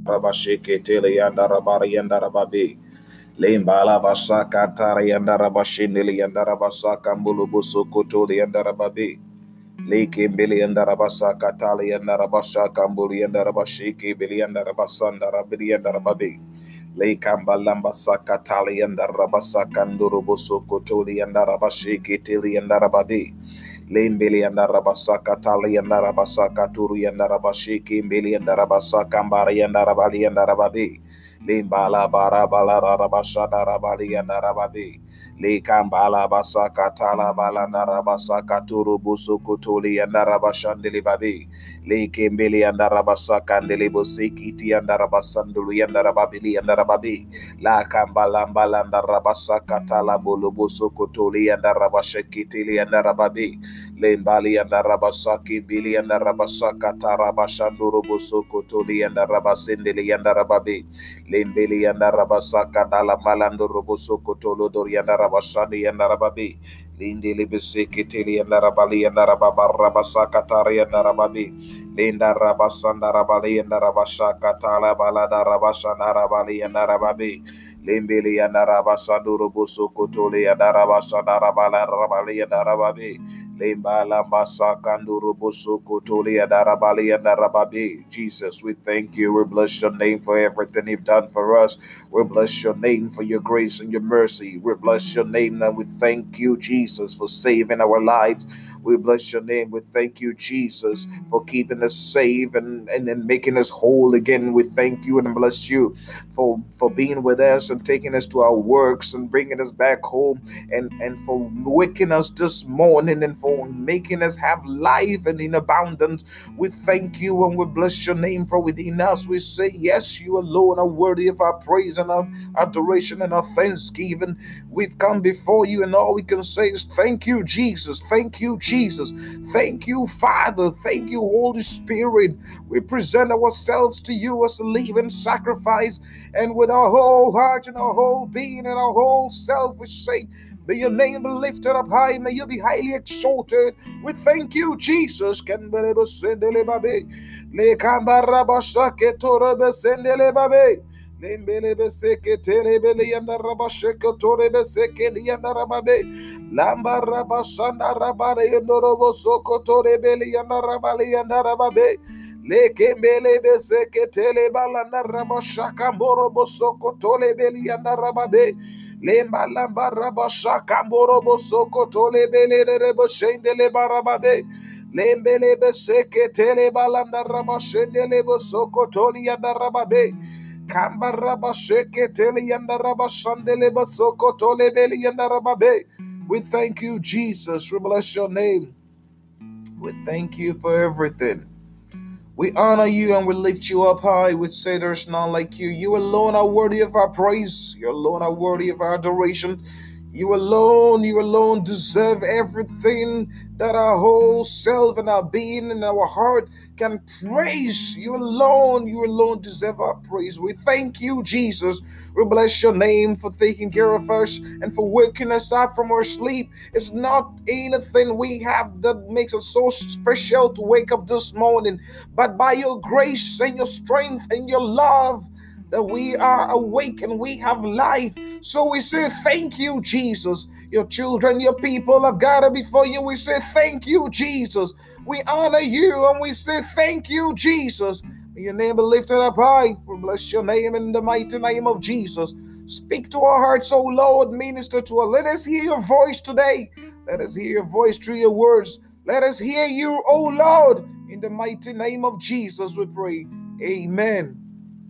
Rabashikitili and Rabari and Rababi. Limbala Basaka Tari and Rabashindili and Rabasaka Mbulubusu Kutuli and Rababi. Liki Billy and Rabasaka Tali and Rabashaka Mbuli and Rabashiki Billy and Rabasanda Rabidi and Rababi. Lekamba Saka Tali and Rabasaka Ndurubusu Kutuli and Rabashiki Tili and Rababi. Limbili and Rabasaka Tali and Rabasaka Turi and Rabashiki Billy and Rabasaka Mbari and Rabali and Rababi. Limbala Barabala Rabashada Rabali and Rababi. Likambala Basaka Tala Balanda Rabasaka Turubusu Kutuli and Rabashandili Babi. Likimbili and Rabasaka and Delibusiki and Rabasanduli and Rababili and Rababi. La Kambalambalanda Rabasaka Tala Bulubusu Kutuli and Rabashekitili and Rababi. Limbali and Rabasaki Billy and Rabasaka Tarabashandurubusu Kutuli and Rabasindili and Rababi. Limbili and Rabasaka Dala Malandu Rubusu Kutulu Doriana Rabashani and Rababi. Lindi Libisikitili and Rabali and Rababa Rabasaka Tari and Rababi. Linda Rabasanda Rabali and Rabashaka Tala Balada Rabashana Rabali and Rababi. Limbili and Rabasandu Rubusu Kutuli and Rabashana Rabala Rabali and Rababi. Limba Lamba Sakanduru Busu Kutuli and Arabali and Arababi. Jesus, we thank you. We bless your name for everything you've done for us. We bless your name for your grace and your mercy. We bless your name and we thank you, Jesus, for saving our lives. We bless your name. We thank you, Jesus, for keeping us safe and making us whole again. We thank you and bless you for being with us and taking us to our works and bringing us back home and for waking us this morning and for making us have life and in abundance. We thank you and we bless your name for within us. We say, yes, you alone are worthy of our praise and our adoration and our thanksgiving. We've come before you and all we can say is thank you, Jesus. Thank you, Jesus. Thank you, Father. Thank you, Holy Spirit. We present ourselves to you as a living sacrifice, and with our whole heart and our whole being and our whole self, we say, may your name be lifted up high. May you be highly exalted. We thank you, Jesus. Lembelebe seke telebele yanda rabasheko torebe seke yanda rababe lamba rabashanda rabare yandorobo soko torebele yanda rabale yanda rababe lekembelebe seke telebalanda rabashaka mborobo soko tolebele yanda rababe lemba lamba rabashaka mborobo soko tolebele rebo shendele barababe lembelebe seke telebalanda rabashendele soko toli yanda rababe Kamba rabasheke tele yanda rabashandele basoko tole beli yanda rababe. We thank you, Jesus. We bless your name. We thank you for everything. We honor you and we lift you up high. We say there's none like you. You alone are worthy of our praise. You alone are worthy of our adoration. You alone deserve everything that our whole self and our being and our heart can praise. You alone deserve our praise. We thank you, Jesus. We bless your name for taking care of us and for waking us up from our sleep. It's not anything we have that makes us so special to wake up this morning, but by your grace and your strength and your love that we are awake and we have life. So we say thank you, Jesus. Your children, your people have gathered before you. We say thank you, Jesus. We honor you and we say thank you, Jesus. May your name be lifted up high. We bless your name in the mighty name of Jesus. Speak to our hearts, O Lord. Minister to us. Let us hear your voice today. Let us hear your voice through your words. Let us hear you, O Lord. In the mighty name of Jesus we pray. Amen.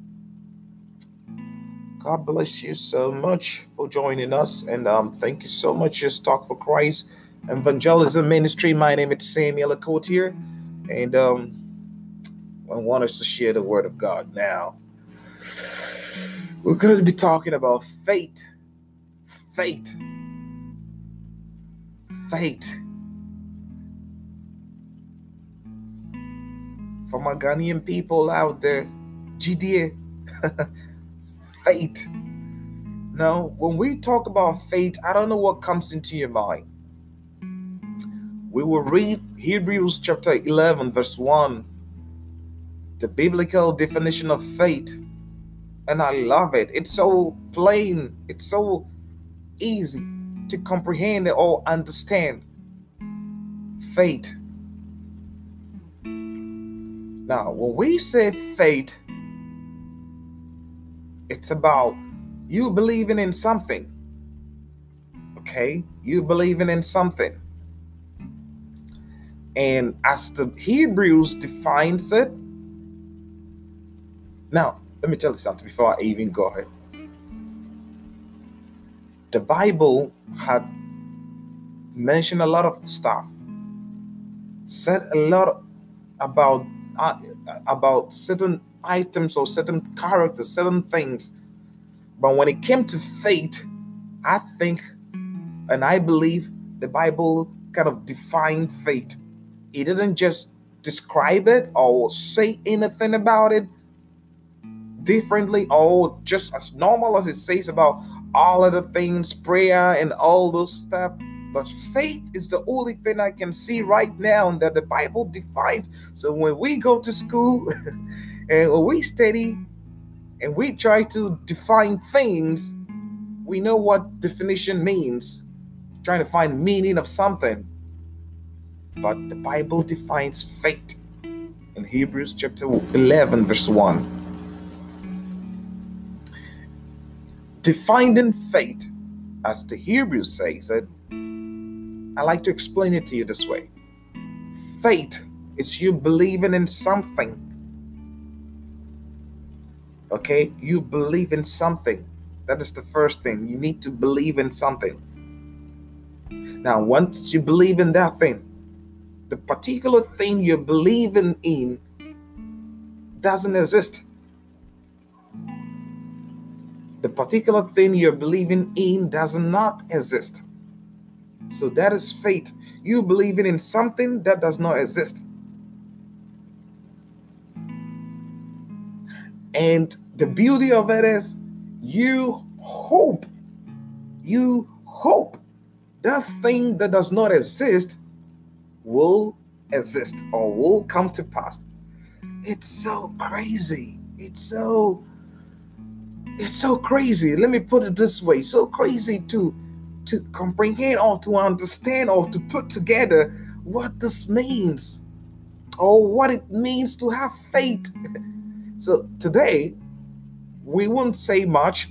God bless you so much for joining us, and thank you so much. Just Talk for Christ Evangelism Ministry. My name is Samuel Akotier, and I want us to share the Word of God now. We're going to be talking about faith. Faith. For my Ghanaian people out there, GDA, faith. Now, when we talk about faith, I don't know what comes into your mind. We will read Hebrews chapter 11, verse 1, the biblical definition of faith. And I love it. It's so plain. It's so easy to comprehend or understand. Faith. Now, when we say faith, it's about you believing in something. Okay? You believing in something. And as the Hebrews defines it, now, let me tell you something before I even go ahead. The Bible had mentioned a lot of stuff, said a lot about certain items or certain characters, certain things. But when it came to faith, I think and I believe the Bible kind of defined faith. It didn't just describe it or say anything about it differently or just as normal as it says about all other things, prayer and all those stuff. But faith is the only thing I can see right now that the Bible defines. So when we go to school and when we study and we try to define things, we know what definition means, trying to find meaning of something. But the Bible defines faith in Hebrews chapter 11 verse 1. Defining faith, as the Hebrews says it, I like to explain it to you this way. Faith is you believing in something. Okay? You believe in something. That is the first thing. You need to believe in something. Now, once you believe in that thing, the particular thing you're believing in doesn't exist. The particular thing you're believing in does not exist. So that is faith. You believing in something that does not exist. And the beauty of it is you hope that thing that does not exist will exist or will come to pass. It's so crazy. It's so crazy. Let me put it this way. So crazy to comprehend or to understand or to put together what this means or what it means to have faith. So today, we won't say much.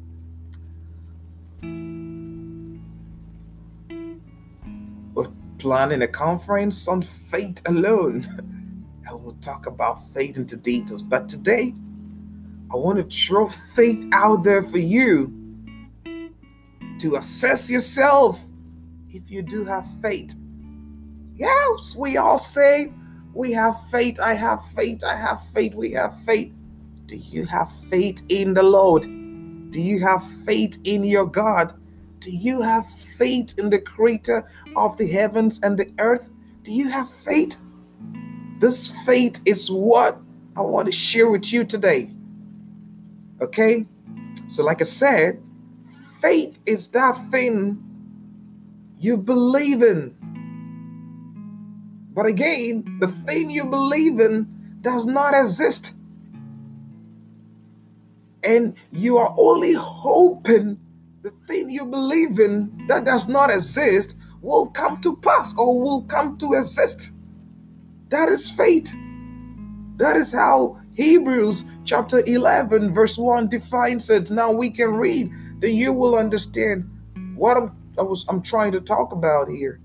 We're planning a conference on faith alone. And we'll talk about faith into details. But today, I want to throw faith out there for you to assess yourself if you do have faith. Yes, we all say we have faith. I have faith. I have faith. We have faith. Do you have faith in the Lord? Do you have faith in your God? Do you have faith in the creator of the heavens and the earth? Do you have faith? This faith is what I want to share with you today. Okay? So like I said, faith is that thing you believe in. But again, the thing you believe in does not exist. And you are only hoping the thing you believe in that does not exist will come to pass or will come to exist. That is faith. That is how Hebrews chapter 11 verse 1 defines it. Now we can read, then you will understand what I'm trying to talk about here.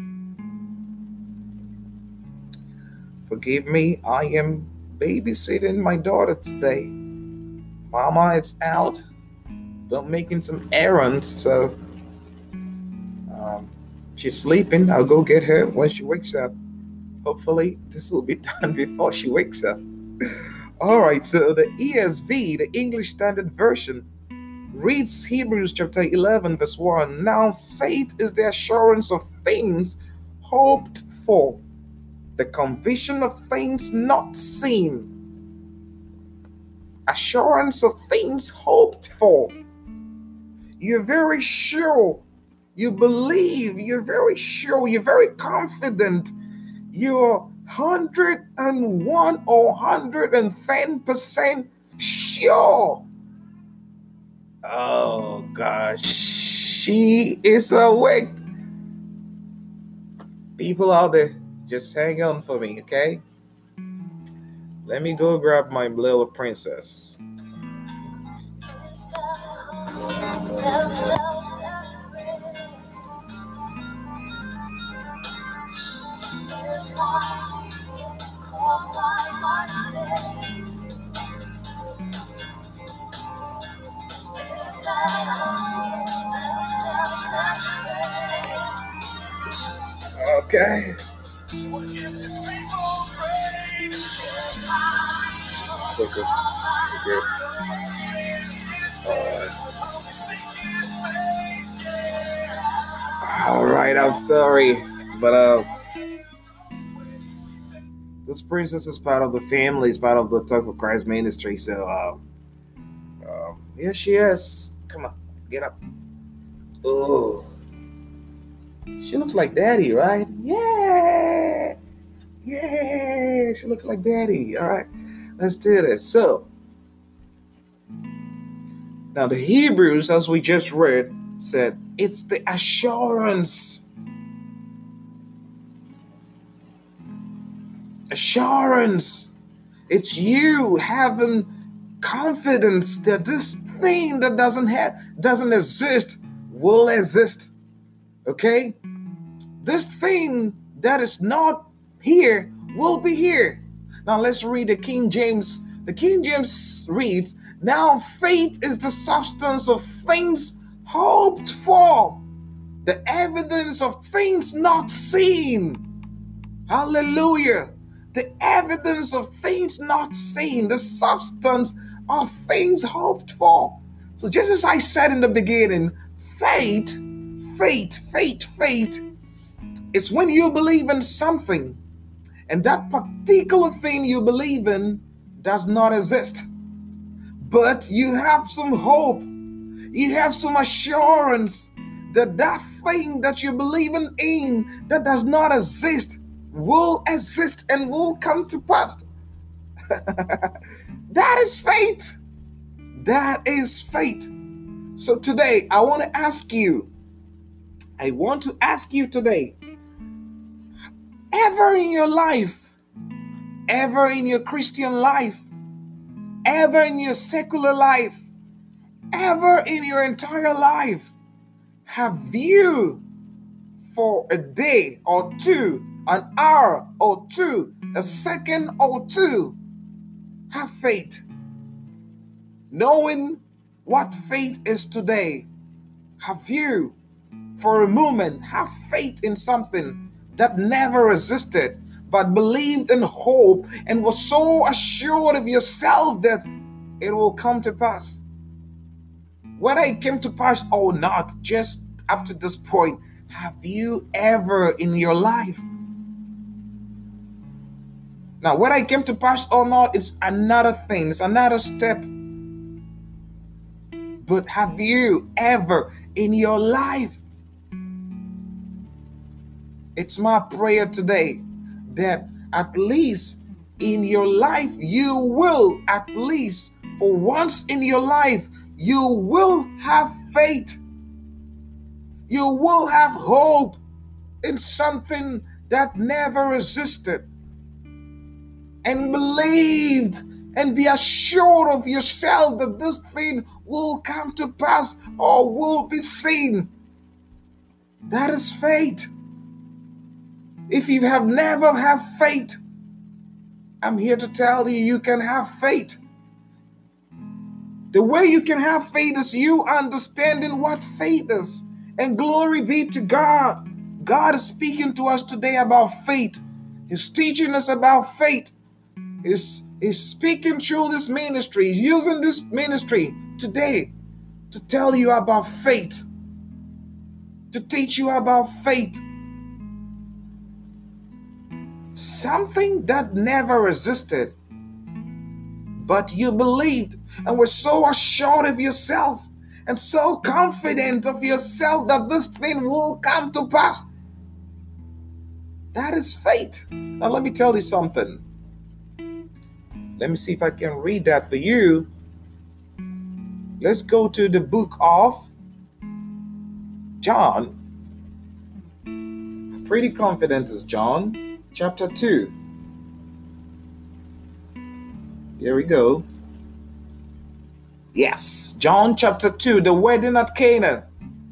Forgive me, I am babysitting my daughter today. Mama is out. They're making some errands, so she's sleeping. I'll go get her when she wakes up. Hopefully, this will be done before she wakes up. All right, so the ESV, the English Standard Version, reads Hebrews chapter 11, verse 1. Now, faith is the assurance of things hoped for, the conviction of things not seen. Assurance of things hoped for. You're very sure. You believe. You're very sure. You're very confident. You're 101 or 110% sure Oh gosh, she is awake. People out there, just hang on for me, okay? Let me go grab my little princess. Okay. Focus. Okay. All right, I'm sorry, but this princess is part of the family, is part of the Talk for Christ ministry. So, here she is. Come on, get up. Oh, she looks like Daddy, right? Yeah, yeah, she looks like Daddy. All right, let's do this. So, now the Hebrews, as we just read, said it's the assurance. Assurance. It's you having confidence that this thing that doesn't exist will exist. Okay? This thing that is not here will be here. Now let's read the King James. The King James reads, "Now faith is the substance of things hoped for, the evidence of things not seen." Hallelujah. The evidence of things not seen, the substance of things hoped for. So just as I said in the beginning, faith is when you believe in something and that particular thing you believe in does not exist. But you have some hope. You have some assurance that that thing that you believe in that does not exist will exist and will come to pass. That is faith. That is faith. So today, I want to ask you today, ever in your life, ever in your Christian life, ever in your secular life, ever in your entire life, have you for a day or two, an hour or two, a second or two, have faith? Knowing what faith is today, have you for a moment have faith in something that never existed, but believed in hope and was so assured of yourself that it will come to pass? Whether it came to pass or not, just up to this point, have you ever in your life? Now, whether it came to pass or not, it's another thing, it's another step. But have you ever in your life? It's my prayer today that at least in your life, you will, at least for once in your life, you will have faith. You will have hope in something that never existed, and believed and be assured of yourself that this thing will come to pass or will be seen. That is faith. If you have never had faith, I'm here to tell you, you can have faith. The way you can have faith is you understanding what faith is. And glory be to God. God is speaking to us today about faith. He's teaching us about faith. He's speaking through this ministry. He's using this ministry today to tell you about faith, to teach you about faith. Something that never existed, but you believed and were so assured of yourself and so confident of yourself that this thing will come to pass. That is faith. Now let me tell you something. Let me see if I can read that for you. let's go to the book of John. I'm pretty confident it's John chapter 2. Here we go. Yes, John chapter 2, the wedding at Cana.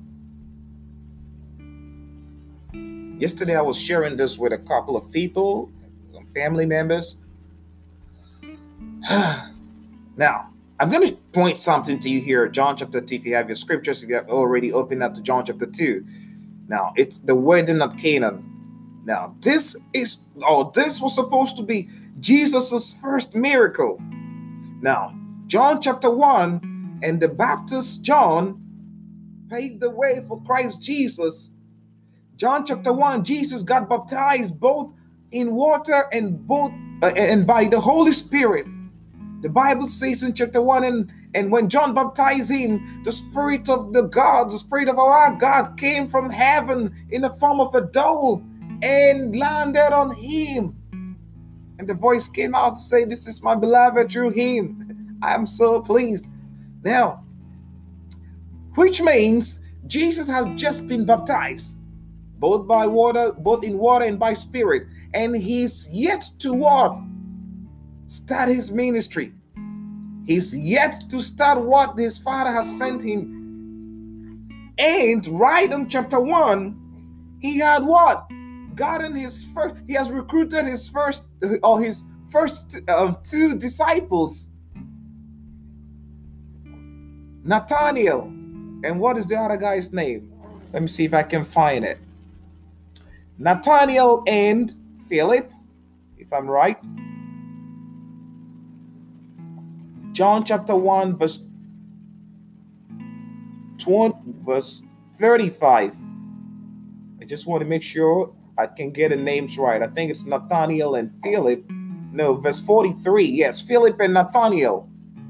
Yesterday I was sharing this with a couple of people, some family members. Now, I'm going to point something to you here, John chapter 2. If you have your scriptures, if you have already opened up to John chapter 2. Now, it's the wedding at Cana. Now, this was supposed to be Jesus' first miracle. Now, John chapter 1 and the Baptist John paved the way for Christ Jesus. John chapter 1, Jesus got baptized both in water and by the Holy Spirit. The Bible says in chapter 1, and when John baptized him, the Spirit of the Spirit of our God came from heaven in the form of a dove and landed on him. And the voice came out to say, "This is my beloved, through him I am so pleased." Now, which means Jesus has just been baptized, both in water and by Spirit. And he's yet to what? Start his ministry. He's yet to start what his Father has sent him. And right in chapter 1, he had what? He has recruited his first two disciples. Nathaniel. And what is the other guy's name? Let me see if I can find it. Nathaniel and Philip, if I'm right. John chapter 1, verse 35. I just want to make sure I can get the names right. I think it's Nathaniel and Philip. No, verse 43. Yes, Philip and Nathaniel.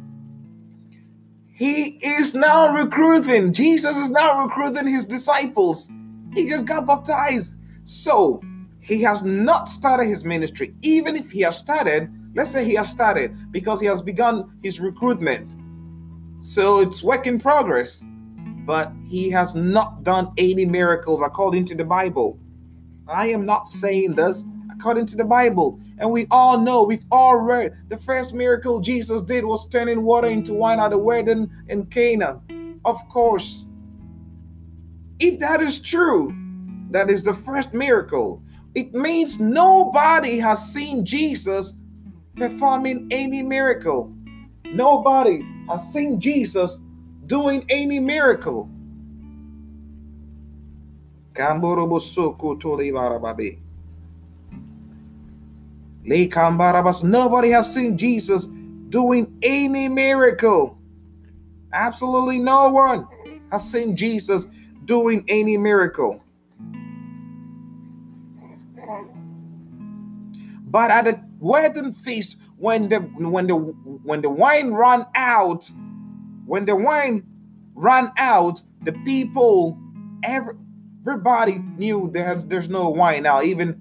He is now recruiting. Jesus is now recruiting his disciples. He just got baptized. So, he has not started his ministry. Even if he has started, let's say he has started because he has begun his recruitment. So, it's work in progress. But he has not done any miracles according to the Bible. I am not saying this according to the Bible. And we all know, we've all read, the first miracle Jesus did was turning water into wine at the wedding in Cana. Of course. If that is true, that is the first miracle. It means nobody has seen Jesus performing any miracle. Nobody has seen Jesus doing any miracle. Nobody has seen Jesus doing any miracle. Absolutely no one has seen Jesus doing any miracle. But at the wedding feast, when the wine ran out, the people, everybody knew there's no wine now. Even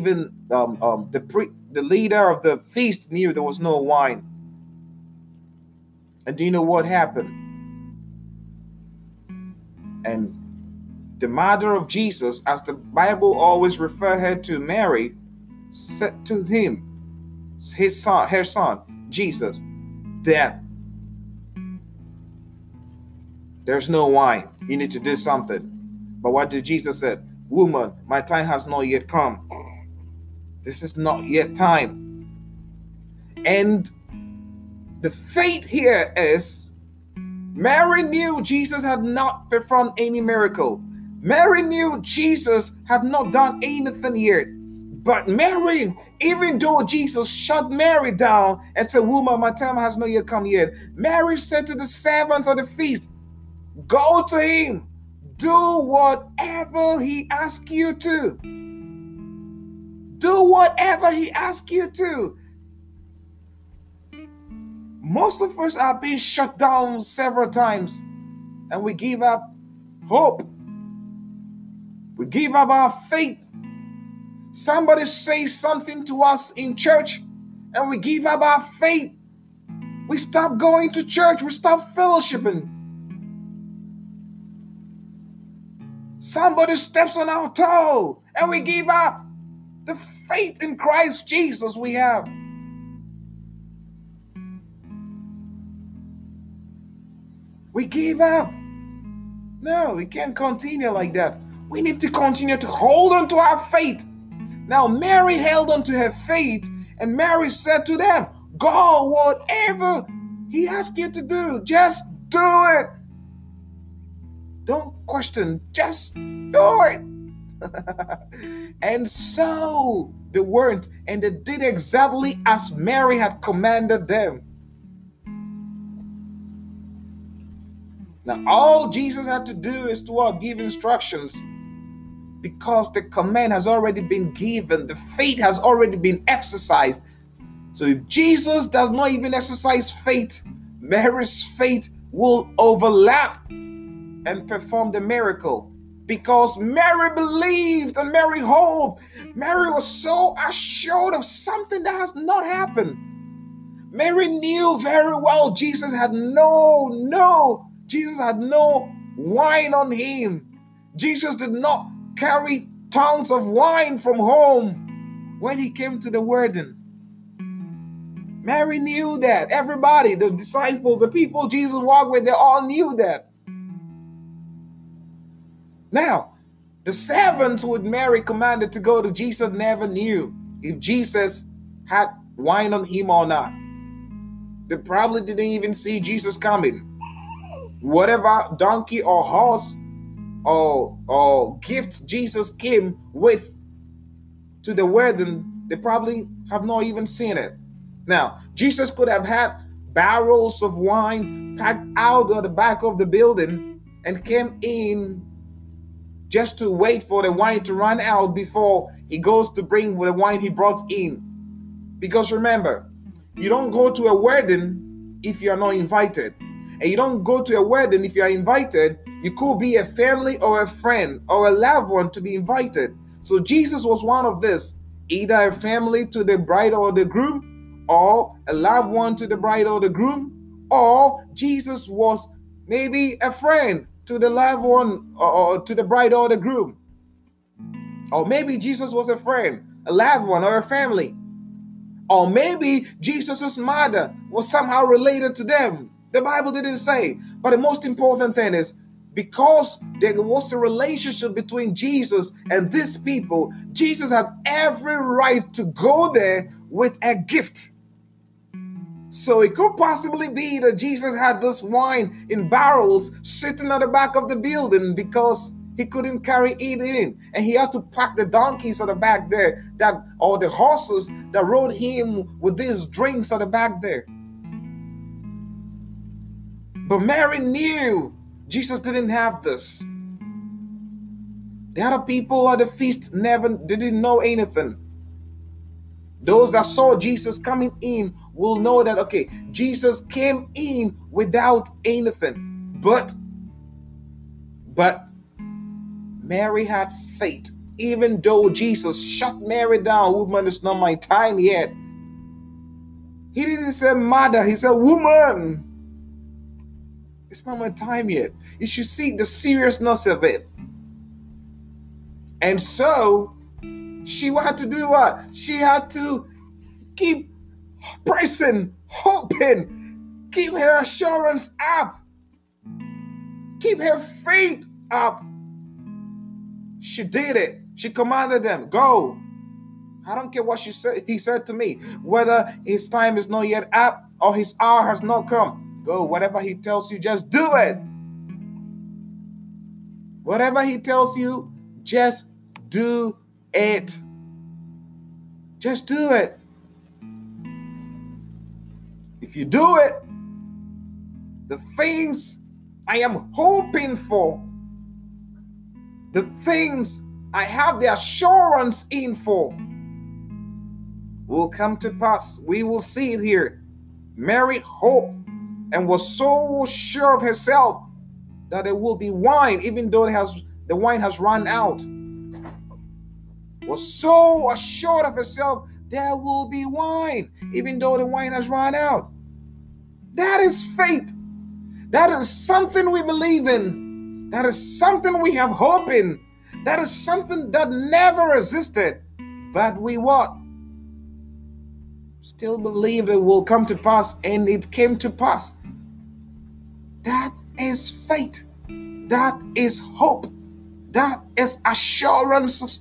the leader of the feast knew there was no wine. And do you know what happened? And the mother of Jesus, as the Bible always refer her to, Mary, said to him, her son, Jesus, that there's no wine. You need to do something. But what did Jesus say? Woman, my time has not yet come. This is not yet time. And the faith here is, Mary knew Jesus had not performed any miracle. Mary knew Jesus had not done anything yet. But Mary, even though Jesus shut Mary down and said, woman, my time has not yet come yet, Mary said to the servants of the feast, go to him. Do whatever he asks you to. Do whatever he asks you to. Most of us are being shut down several times and we give up hope. We give up our faith. Somebody says something to us in church and we give up our faith. We stop going to church. We stop fellowshipping. Somebody steps on our toe and we give up. The faith in Christ Jesus we have. We give up. No, we can't continue like that. We need to continue to hold on to our faith. Now, Mary held on to her faith, and Mary said to them, go, whatever he asks you to do, just do it. Don't question, just do it. And so they went, and they did exactly as Mary had commanded them. Now, all Jesus had to do is to give instructions, because the command has already been given. The faith has already been exercised. So if Jesus does not even exercise faith, Mary's faith will overlap and perform the miracle, because Mary believed and Mary hoped. Mary was so assured of something that has not happened. Mary knew very well Jesus had no wine on him. Jesus did not carry tons of wine from home when he came to the wedding. Mary knew that. Everybody, the disciples, the people Jesus walked with, they all knew that. Now, the servants who Mary commanded to go to Jesus never knew if Jesus had wine on him or not. They probably didn't even see Jesus coming. Whatever donkey or horse or gifts Jesus came with to the wedding, they probably have not even seen it. Now, Jesus could have had barrels of wine packed out of the back of the building and came in just to wait for the wine to run out before he goes to bring the wine he brought in. Because remember, you don't go to a wedding if you are not invited. And you don't go to a wedding if you are invited. You could be a family or a friend or a loved one to be invited. So Jesus was one of this, either a family to the bride or the groom, or a loved one to the bride or the groom, or Jesus was maybe a friend to the loved one or to the bride or the groom. Or maybe Jesus was a friend, a loved one, or a family. Or maybe Jesus' mother was somehow related to them. The Bible didn't say. But the most important thing is, because there was a relationship between Jesus and these people, Jesus had every right to go there with a gift. So it could possibly be that Jesus had this wine in barrels sitting at the back of the building because he couldn't carry it in. And he had to pack the donkeys at the back there, or the horses that rode him with these drinks at the back there. But Mary knew Jesus didn't have this. The other people at the feast didn't know anything. Those that saw Jesus coming in will know that, okay, Jesus came in without anything. But Mary had faith. Even though Jesus shut Mary down, woman, it's not my time yet. He didn't say mother, he said woman. It's not my time yet. You should see the seriousness of it. And so she had to do what? She had to keep pressing, hoping, keep her assurance up, keep her faith up. She did it. She commanded them, go. I don't care what he said to me, whether his time is not yet up or his hour has not come. Go, whatever he tells you, just do it. Whatever he tells you, just do it. Just do it. If you do it, the things I am hoping for, the things I have the assurance in for, will come to pass. We will see it here. Mary hoped and was so sure of herself that there will be wine, even though the wine has run out. Was so assured of herself, there will be wine, even though the wine has run out. That is faith. That is something we believe in. That is something we have hope in. That is something that never existed. But we what? Still believe it will come to pass, and it came to pass. That is faith. That is hope. That is assurance.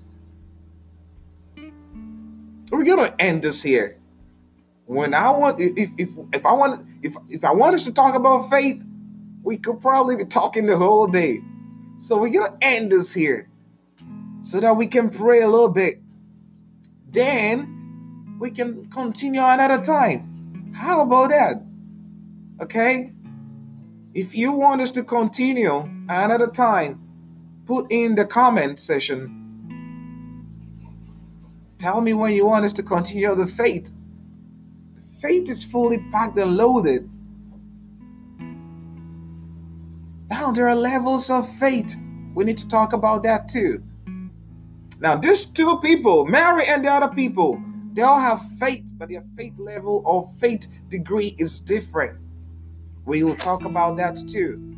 We're gonna end this here. When I want, if I want us to talk about faith, we could probably be talking the whole day. So we're gonna end this here, so that we can pray a little bit. Then we can continue another time. How about that? Okay? If you want us to continue another time, put in the comment section. Tell me when you want us to continue the faith. Faith is fully packed and loaded. Now, there are levels of faith. We need to talk about that too. Now, these two people, Mary and the other people, they all have faith, but their faith level or faith degree is different. We will talk about that too.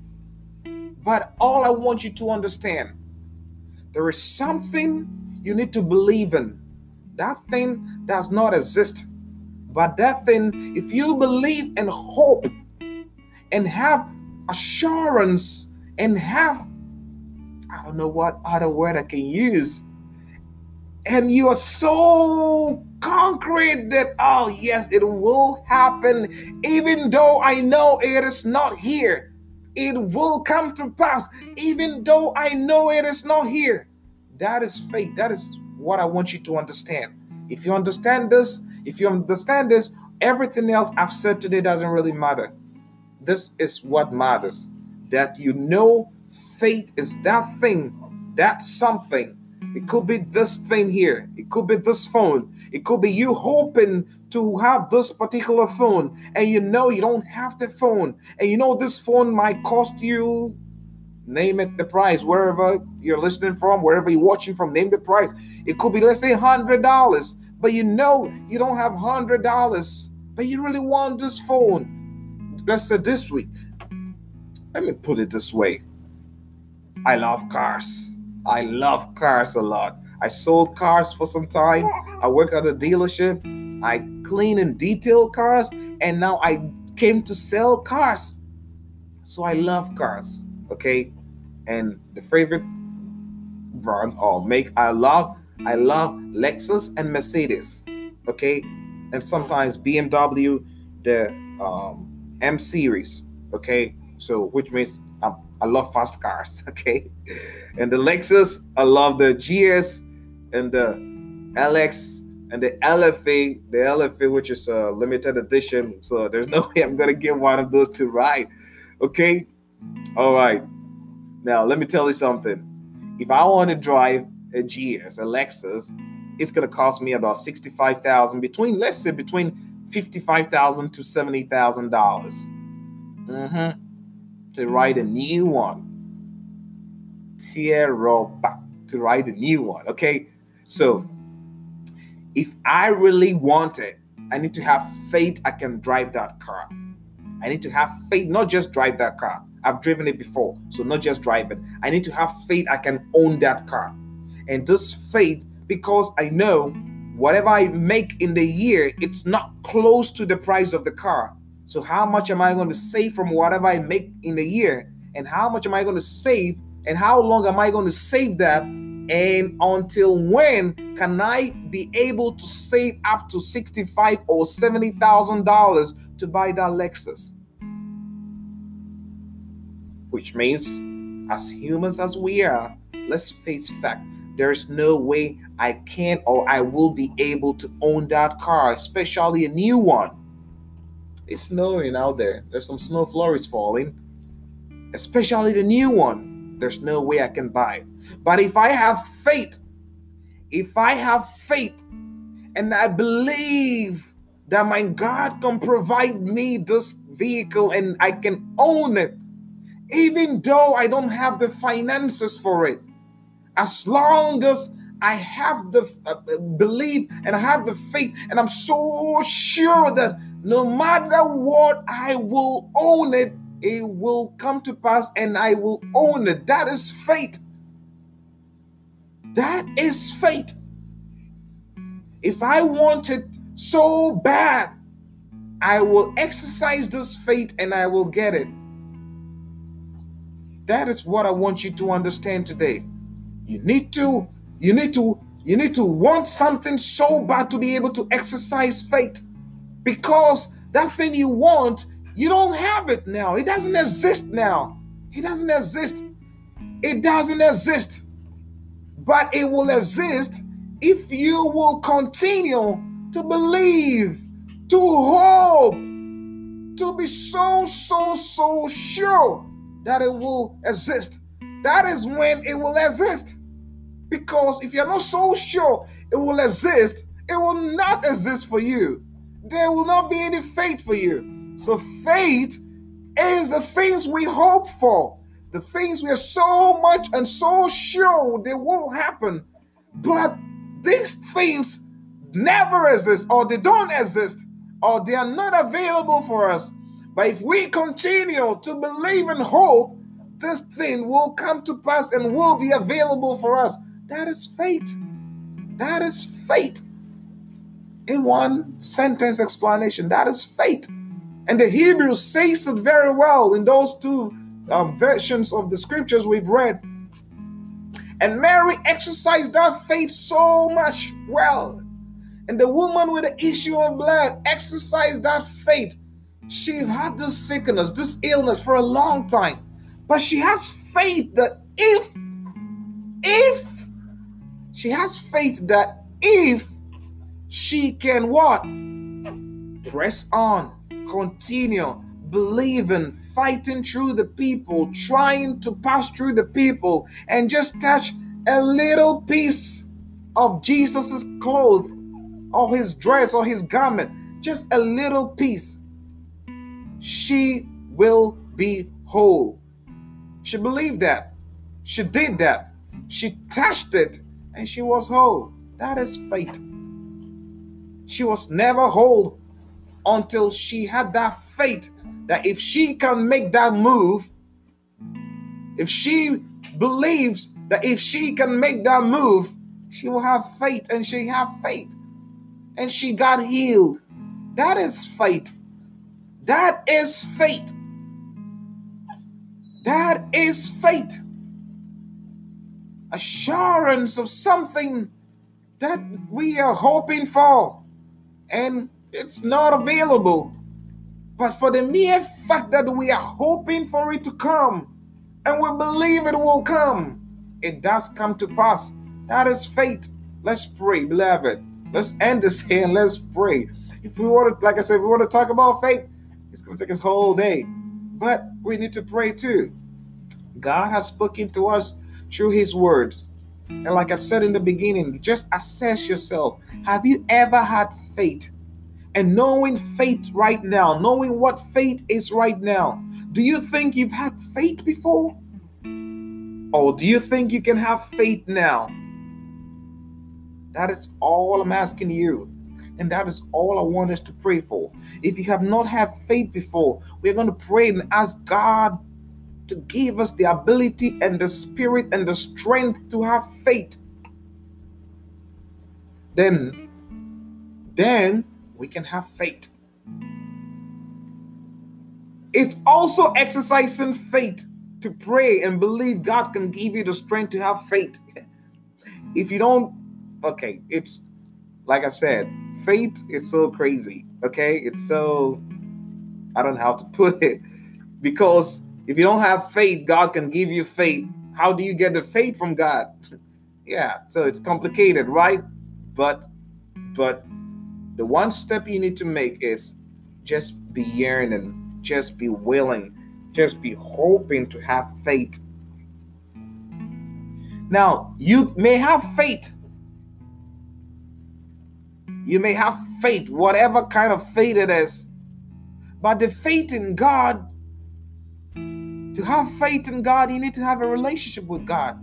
But all I want you to understand, there is something you need to believe in. That thing does not exist. But that thing, if you believe and hope and have assurance and have, I don't know what other word I can use, and you are so concrete that, oh yes, it will happen, even though I know it is not here. It will come to pass, even though I know it is not here. That is faith. That is what I want you to understand. If you understand this, everything else I've said today doesn't really matter. This is what matters. That you know faith is that thing, that something. It could be this thing here. It could be this phone. It could be you hoping to have this particular phone, and you know you don't have the phone, and you know this phone might cost you, name it, the price, wherever you're listening from, wherever you're watching from, name the price. It could be, let's say, $100, but you know you don't have $100, but you really want this phone. Let's say this week. Let me put it this way. I love cars. I love cars a lot. I sold cars for some time. I work at a dealership. I clean and detail cars, and now I came to sell cars. So I love cars, okay? And the favorite brand or make I love Lexus and Mercedes, okay? And sometimes BMW, the M series, okay? So which means I love fast cars, okay? And the Lexus, I love the GS and the LX and the LFA, which is a limited edition. So there's no way I'm gonna get one of those to ride, okay? All right. Now let me tell you something. If I want to drive a GS, a Lexus, it's gonna cost me about $65,000, between $55,000 to $70,000. To ride a new one. To ride a new one, okay? So, if I really want it, I need to have faith I can drive that car. I need to have faith, not just drive that car. I've driven it before, so not just drive it. I need to have faith I can own that car. And this faith, because I know whatever I make in the year, it's not close to the price of the car. So how much am I going to save from whatever I make in a year? And how much am I going to save? And how long am I going to save that? And until when can I be able to save up to $65,000 or $70,000 to buy that Lexus? Which means, as humans as we are, let's face fact. There is no way I can or I will be able to own that car, especially a new one. It's snowing out there. There's some snow flurries falling. Especially the new one. There's no way I can buy it. But if I have faith, and I believe that my God can provide me this vehicle and I can own it, even though I don't have the finances for it, as long as I have the belief and I have the faith, and I'm so sure that no matter what, I will own it, it will come to pass and I will own it. That is faith. That is faith. If I want it so bad, I will exercise this faith and I will get it. That is what I want you to understand today. You need to want something so bad to be able to exercise faith, because that thing you want, you don't have it now. It doesn't exist now. It doesn't exist. It doesn't exist. But it will exist if you will continue to believe, to hope, to be so sure that it will exist. That is when it will exist. Because if you're not so sure it will exist, it will not exist for you. There will not be any faith for you. So faith is the things we hope for, the things we are so much and so sure they will happen. But these things never exist, or they don't exist, or they are not available for us. But if we continue to believe and hope, this thing will come to pass and will be available for us. That is faith. That is faith. In one sentence explanation, that is faith. And the Hebrew says it very well in those two versions of the scriptures we've read. And Mary exercised that faith so much well. And the woman with the issue of blood exercised that faith. She had this sickness, this illness for a long time. But she has faith that if she can what? Press on, continue, believing, fighting through the people, trying to pass through the people, and just touch a little piece of Jesus's clothes, or his dress, or his garment, just a little piece, she will be whole. She believed that. She did that. She touched it and she was whole. That is faith. She was never whole until she had that faith that if she can make that move, if she believes that if she can make that move, she will have faith, and she had faith. And she got healed. That is faith. That is faith. That is faith. Assurance of something that we are hoping for, and it's not available. But for the mere fact that we are hoping for it to come, and we believe it will come, it does come to pass. That is faith. Let's pray, beloved. Let's end this here and let's pray. If we want to, like I said, if we want to talk about faith, it's going to take us whole day. But we need to pray too. God has spoken to us through his words. And like I said in the beginning, just assess yourself. Have you ever had faith? And knowing faith right now, knowing what faith is right now, do you think you've had faith before? Or do you think you can have faith now? That is all I'm asking you. And that is all I want us to pray for. If you have not had faith before, we're going to pray and ask God to give us the ability and the spirit and the strength to have faith. Then we can have faith. It's also exercising faith to pray and believe God can give you the strength to have faith. If you don't, okay, it's like I said, faith is so crazy. Okay, it's so, I don't know how to put it, because if you don't have faith, God can give you faith. How do you get the faith from God? Yeah, so it's complicated, right? But the one step you need to make is just be yearning, just be willing, just be hoping to have faith. Now, you may have faith. You may have faith, whatever kind of faith it is. But the faith in God, to have faith in God, you need to have a relationship with God.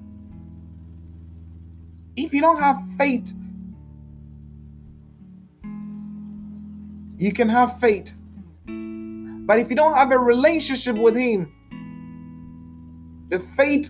If you don't have faith, you can have faith, But if you don't have a relationship with him, the faith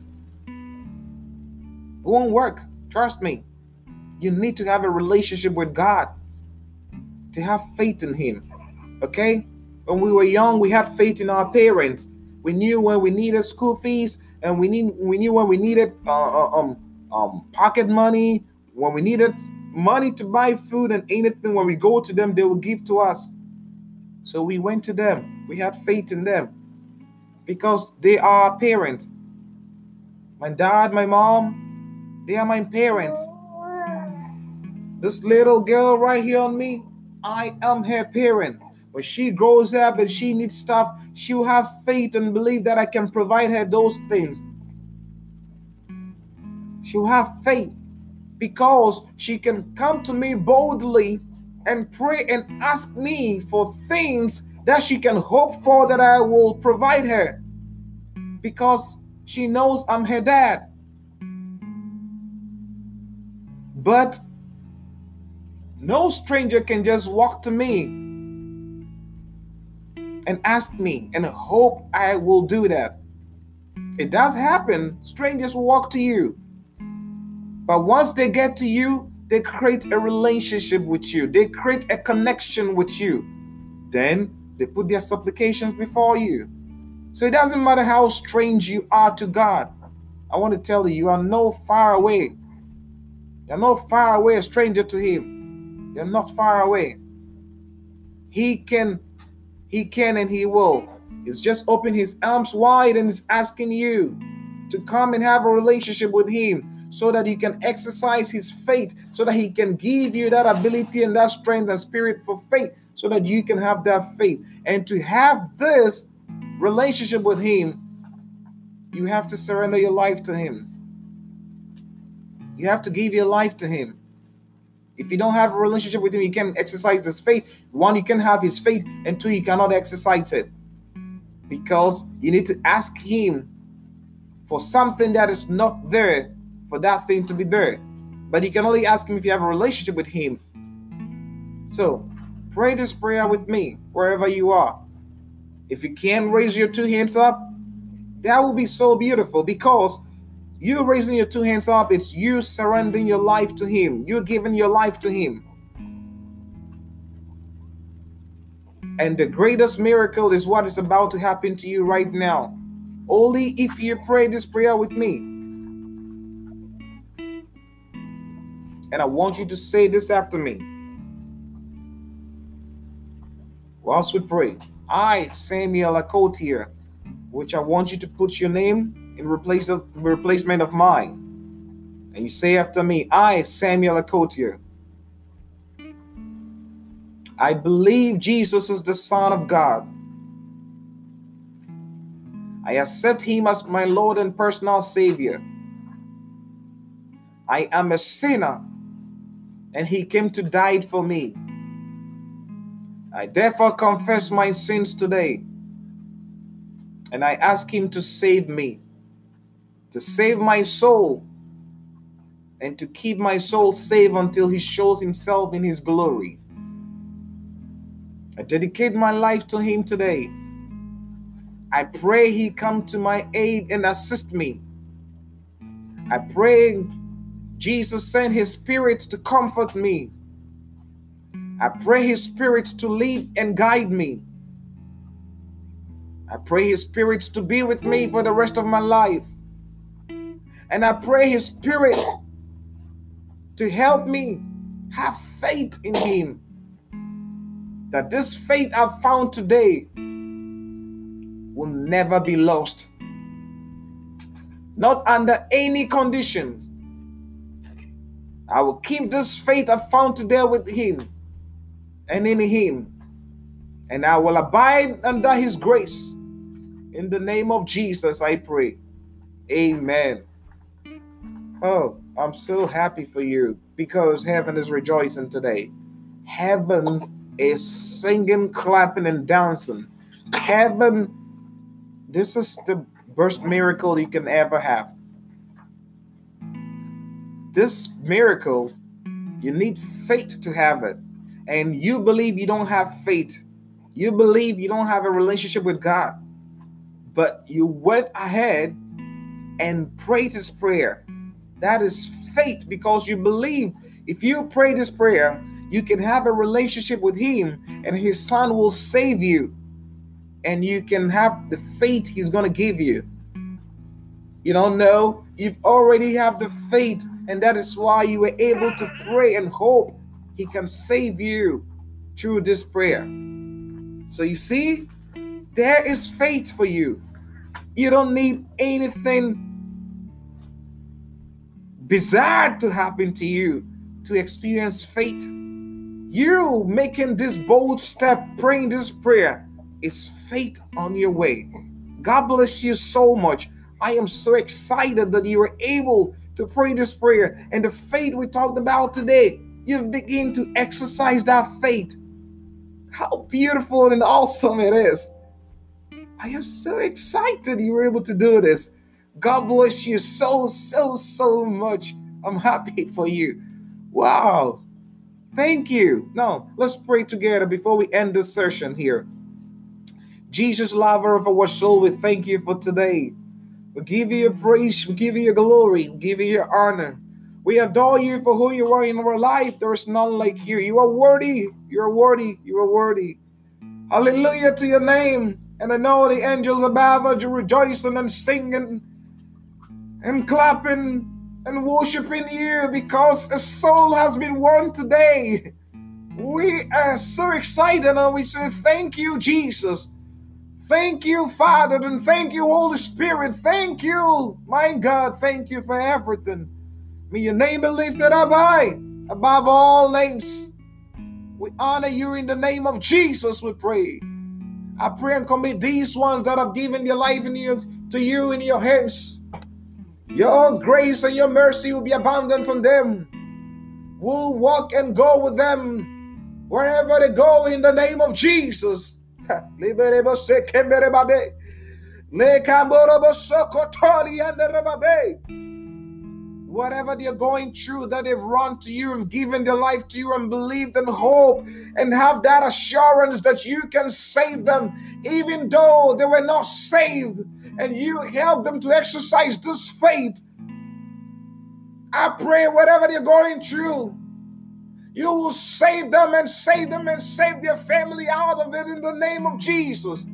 won't work. Trust me. You need to have a relationship with God to have faith in him. Okay? When we were young, we had faith in our parents. We knew when we needed school fees, and we knew when we needed pocket money, when we needed money to buy food and anything. When we go to them, they will give to us. So we went to them. We had faith in them because they are our parents. My dad, my mom, they are my parents. This little girl right here on me, I am her parent. When she grows up and she needs stuff, she will have faith and believe that I can provide her those things. She will have faith because she can come to me boldly and pray and ask me for things that she can hope for that I will provide her because she knows I'm her dad. But no stranger can just walk to me and ask me and hope I will do that. It does happen. Strangers will walk to you. But once they get to you, they create a relationship with you. They create a connection with you. Then they put their supplications before you. So it doesn't matter how strange you are to God. I want to tell you, you are no far away. You're not far away, a stranger to him. You're not far away. He can and he will. He's just opened his arms wide and is asking you to come and have a relationship with him so that he can exercise his faith, so that he can give you that ability and that strength and spirit for faith, so that you can have that faith. And to have this relationship with him, you have to surrender your life to him. You have to give your life to him. If you don't have a relationship with him, you can't exercise his faith. One, you can have his faith, and two, you cannot exercise it. Because you need to ask him for something that is not there, for that thing to be there. But you can only ask him if you have a relationship with him. So, pray this prayer with me, wherever you are. If you can raise your two hands up, that will be so beautiful, because you raising your two hands up, it's you surrendering your life to him. You're giving your life to him. And the greatest miracle is what is about to happen to you right now. Only if you pray this prayer with me. And I want you to say this after me. Whilst we pray, I, Samuel Akotier, which I want you to put your name in replacement of mine. And you say after me, I, Samuel Akotier, I believe Jesus is the Son of God. I accept him as my Lord and personal Savior. I am a sinner, and he came to die for me. I therefore confess my sins today, and I ask him to save me, to save my soul, and to keep my soul safe until he shows himself in his glory. I dedicate my life to him today. I pray he come to my aid and assist me. I pray Jesus send his spirit to comfort me. I pray his spirit to lead and guide me. I pray his spirit to be with me for the rest of my life. And I pray his spirit to help me have faith in him. That this faith I've found today will never be lost. Not under any condition. I will keep this faith I found today with him and in him. And I will abide under his grace. In the name of Jesus, I pray. Amen. Oh, I'm so happy for you because heaven is rejoicing today. Heaven is singing, clapping, and dancing. Heaven, this is the best miracle you can ever have. This miracle, you need faith to have it. And you believe you don't have faith. You believe you don't have a relationship with God, but you went ahead and prayed this prayer. That is faith, because you believe if you pray this prayer, you can have a relationship with Him and His Son will save you. And you can have the faith He's going to give you. You don't know, you already have the faith, and that is why you were able to pray and hope He can save you through this prayer. So you see, there is faith for you. You don't need anything bizarre to happen to you to experience faith. You making this bold step, praying this prayer, is faith on your way. God bless you so much. I am so excited that you were able to pray this prayer, and the faith we talked about today, you begin to exercise that faith. How beautiful and awesome it is. I am so excited you were able to do this. God bless you so much. I'm happy for you. Wow. Thank you. Now, let's pray together before we end this session here. Jesus, lover of our soul, we thank you for today. We give you your praise. We give you your glory. We give you your honor. We adore you for who you are in our life. There is none like you. You are worthy. You are worthy. You are worthy. Hallelujah to your name. And I know the angels above are rejoicing and singing and clapping and worshiping you because a soul has been won today. We are so excited and we say thank you, Jesus. Thank you, Father, and thank you, Holy Spirit. Thank you, my God. Thank you for everything. May your name be lifted up high above all names. We honor you in the name of Jesus, we pray. I pray and commit these ones that have given their life to you in your hands. Your grace and your mercy will be abundant on them. We'll walk and go with them wherever they go in the name of Jesus. Whatever they're going through, that they've run to you and given their life to you and believed and hope and have that assurance that you can save them even though they were not saved, and you help them to exercise this faith. I pray whatever they're going through, you will save them and save their family out of it in the name of Jesus.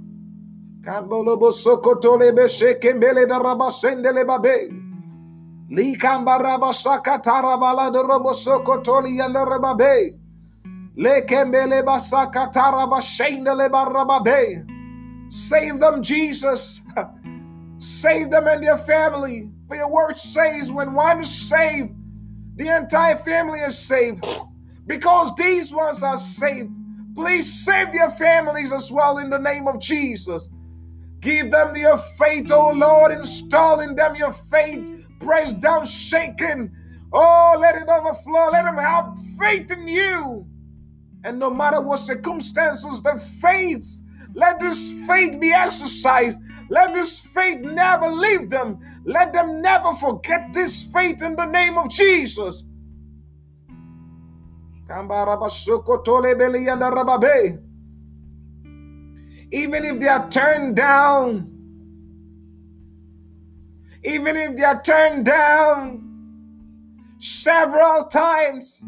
Save them, Jesus. Save them and their family. For your word says when one is saved, the entire family is saved. Because these ones are saved, please save their families as well in the name of Jesus. Give them your faith, oh Lord. Install in them your faith, pressed down, shaken. Oh, let it overflow. Let them have faith in you. And no matter what circumstances they face, let this faith be exercised. Let this faith never leave them. Let them never forget this faith in the name of Jesus. Even if they are turned down, several times,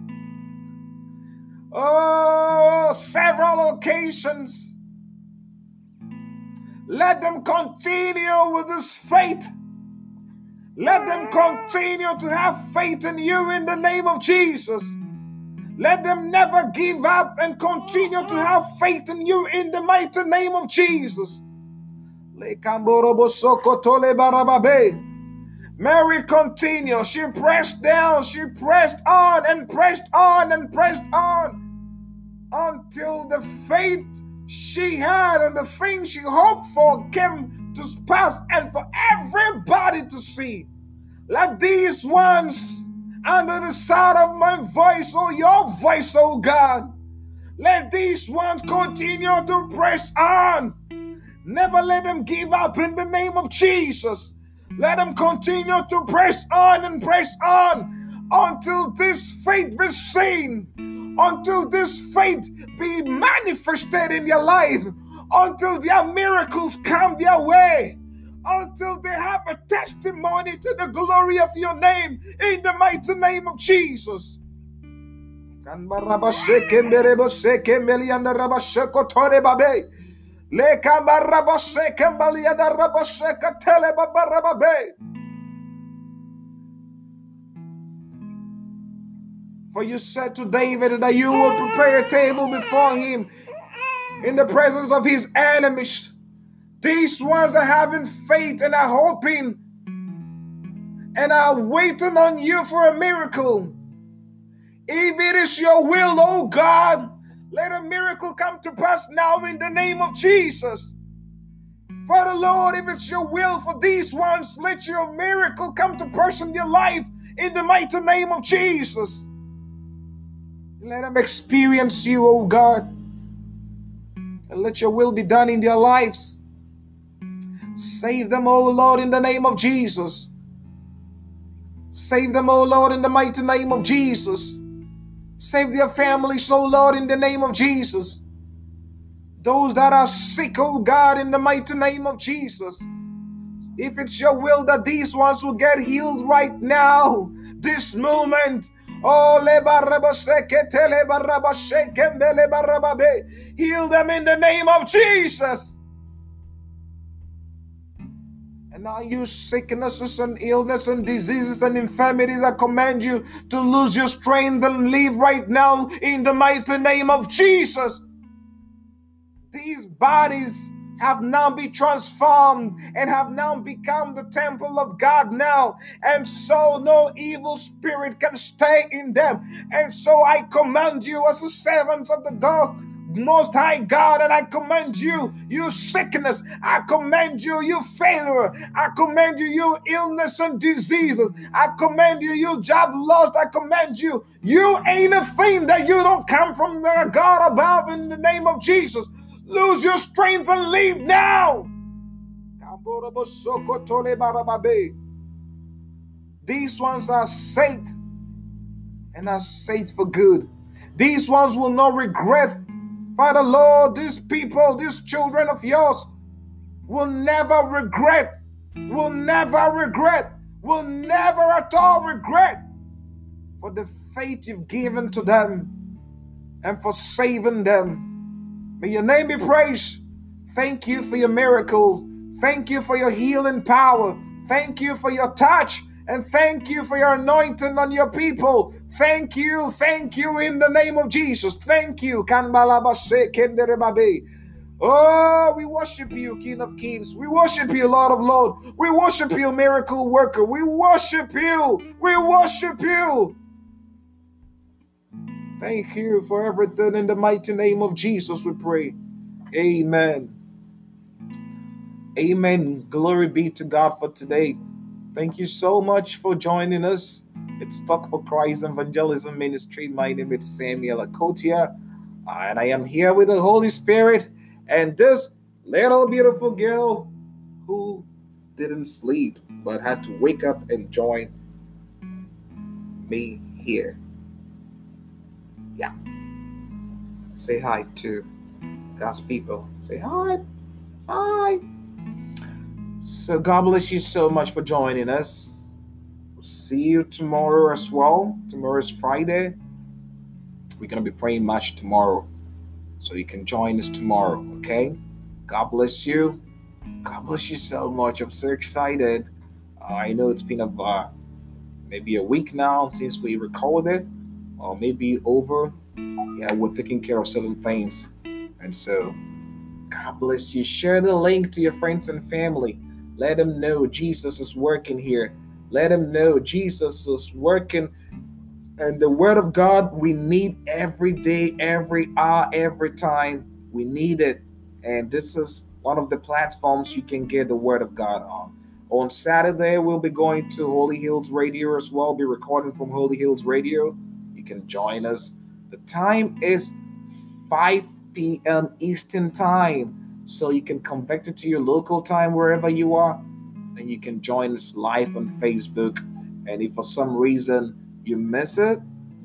several occasions, let them continue with this faith. Let them continue to have faith in you in the name of Jesus. Let them never give up and continue to have faith in you in the mighty name of Jesus. Mary continued. She pressed down. She pressed on and pressed on and pressed on until the faith she had and the thing she hoped for came to pass and for everybody to see. Let these ones under the sound of my voice, or your voice, oh God, let these ones continue to press on. Never let them give up in the name of Jesus. Let them continue to press on and press on until this faith be seen. until this faith be manifested in their life, until their miracles come their way, until they have a testimony to the glory of your name, in the mighty name of Jesus. For you said to David that you will prepare a table before him in the presence of his enemies. These ones are having faith and are hoping and are waiting on you for a miracle. If it is your will, oh God, let a miracle come to pass now in the name of Jesus. Father Lord, if it's your will for these ones, let your miracle come to pass in their life in the mighty name of Jesus. Let them experience you, oh God, and let your will be done in their lives. Save them, oh Lord, in the name of Jesus. Save them, oh Lord, in the mighty name of Jesus. Save their families, oh Lord, in the name of Jesus. Those that are sick, oh God, in the mighty name of Jesus. If it's your will that these ones will get healed right now, this moment. Oh, heal them in the name of Jesus. And now you sicknesses and illness and diseases and infirmities, I command you to lose your strength and leave right now in the mighty name of Jesus. These bodies have now been transformed and have now become the temple of God now. And so no evil spirit can stay in them. And so I command you as a servant of the God, Most High God, and I command you, you sickness. I command you, you failure. I command you, you illness and diseases. I command you, you job loss. I command you, you ain't a thing that you don't come from the God above in the name of Jesus. Lose your strength and leave now. These ones are saved and are saved for good. These ones will not regret. Father Lord, these people, these children of yours will never regret, will never at all regret for the faith you've given to them and for saving them. May your name be praised. Thank you for your miracles. Thank you for your healing power. Thank you for your touch. And thank you for your anointing on your people. Thank you in the name of Jesus. Thank you. Oh, we worship you, King of Kings. We worship you, Lord of Lords. We worship you, miracle worker. We worship you. We worship you. Thank you for everything in the mighty name of Jesus, we pray. Amen. Amen. Glory be to God for today. Thank you so much for joining us. It's Talk for Christ Evangelism Ministry. My name is Samuel Akotia, and I am here with the Holy Spirit and this little beautiful girl who didn't sleep but had to wake up and join me here. Yeah. Say hi to God's people. Say hi. Hi. So God bless you so much for joining us. We'll see you tomorrow as well. Tomorrow is Friday. We're going to be praying much tomorrow. So you can join us tomorrow, okay? God bless you. God bless you so much. I'm so excited. I know it's been maybe a week now since we recorded. Or maybe over. Yeah, we're taking care of certain things. And so, God bless you. Share the link to your friends and family. Let them know Jesus is working here. Let them know Jesus is working. And the word of God, we need every day, every hour, every time. We need it. And this is one of the platforms you can get the word of God on. On Saturday, we'll be going to Holy Hills Radio as well. Be recording from Holy Hills Radio. You can join us. The time is 5 p.m. Eastern Time. So you can convert it to your local time wherever you are. And you can join us live on Facebook. And if for some reason you miss it,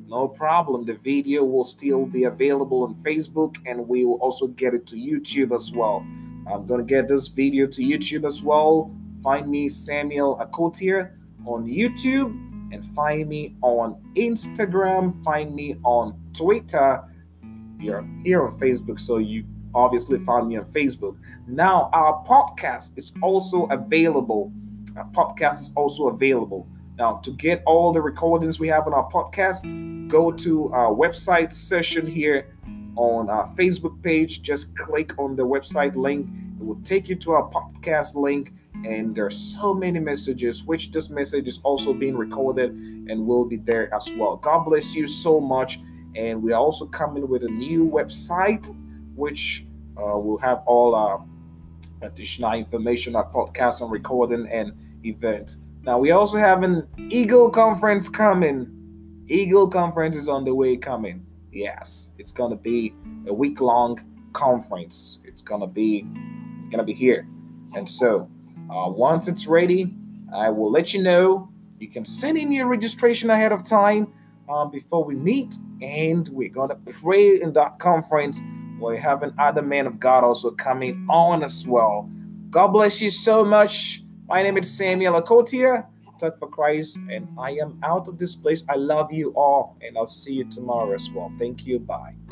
No problem. The video will still be available on Facebook, and we will also get it to YouTube as well. I'm going to get this video to YouTube as well. Find me, Samuel Akotier, on YouTube, and find me on Instagram. Find me on Twitter. You're here on Facebook, so you obviously found me on Facebook. Now, our podcast is also available. Our podcast is also available. Now, to get all the recordings we have on our podcast, go to our website session here on our Facebook page. Just click on the website link. It will take you to our podcast link. And there's so many messages, which this message is also being recorded and will be there as well. God bless you so much. And we are also coming with a new website, which will have all our additional information, our podcast and recording and events. Now, we also have an Eagle Conference coming. Eagle Conference is on the way coming. Yes, it's going to be a week-long conference. It's going to be here. And so, once it's ready, I will let you know. You can send in your registration ahead of time before we meet, and we're going to pray in that conference. We're having other men of God also coming on as well. God bless you so much. My name is Samuel Akotia, Talk for Christ, and I am out of this place. I love you all, and I'll see you tomorrow as well. Thank you. Bye.